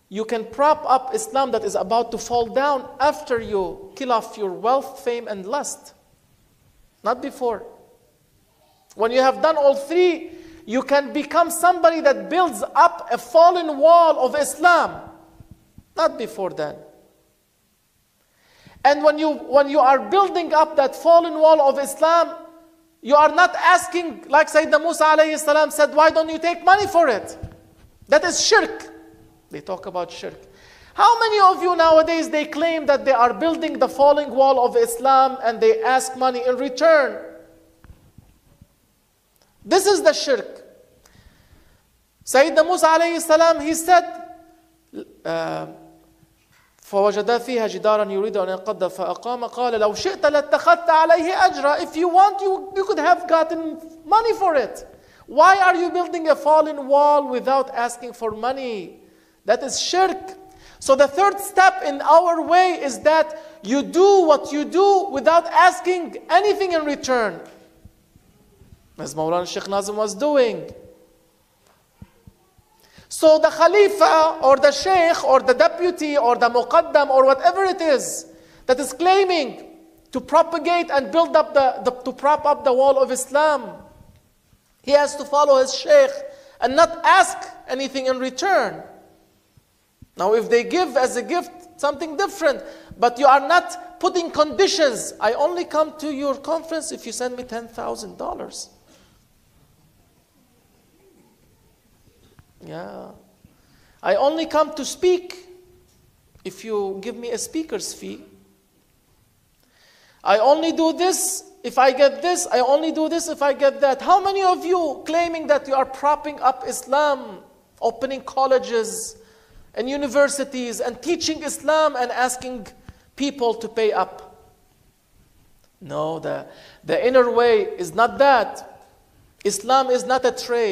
you can prop up Islam that is about to fall down after you kill off your wealth, fame, and lust. Not before. When you have done all three, you can become somebody that builds up a fallen wall of Islam. Not before then. And when you are building up that fallen wall of Islam, you are not asking, like Sayyidina Musa alayhi salam said, why don't you take money for it? That is shirk. They talk about shirk. How many of you nowadays, they claim that they are building the falling wall of Islam and they ask money in return? This is the shirk. Sayyidina Musa alayhi salam, he said, فوجدا فيها جدارا يريد أن ينقض فأقام قال لو شئت لاتخذت عليه أجرا. If you want, you could have gotten money for it. Why are you building a fallen wall without asking for money? That is shirk. So the third step in our way is that you do what you do without asking anything in return. As Mawlana Sheikh Nazim was doing. So the Khalifa or the Sheikh or the deputy or the Muqaddam or whatever it is that is claiming to propagate and build up to prop up the wall of Islam, he has to follow his Sheikh and not ask anything in return. Now if they give as a gift, something different, but you are not putting conditions. I only come to your conference if you send me $10,000. Yeah. I only come to speak if you give me a speaker's fee. I only do this if I get this. I only do this if I get that. How many of you claiming that you are propping up Islam, opening colleges and universities and teaching Islam and asking people to pay up? No, the inner way is not that. Islam is not a trade.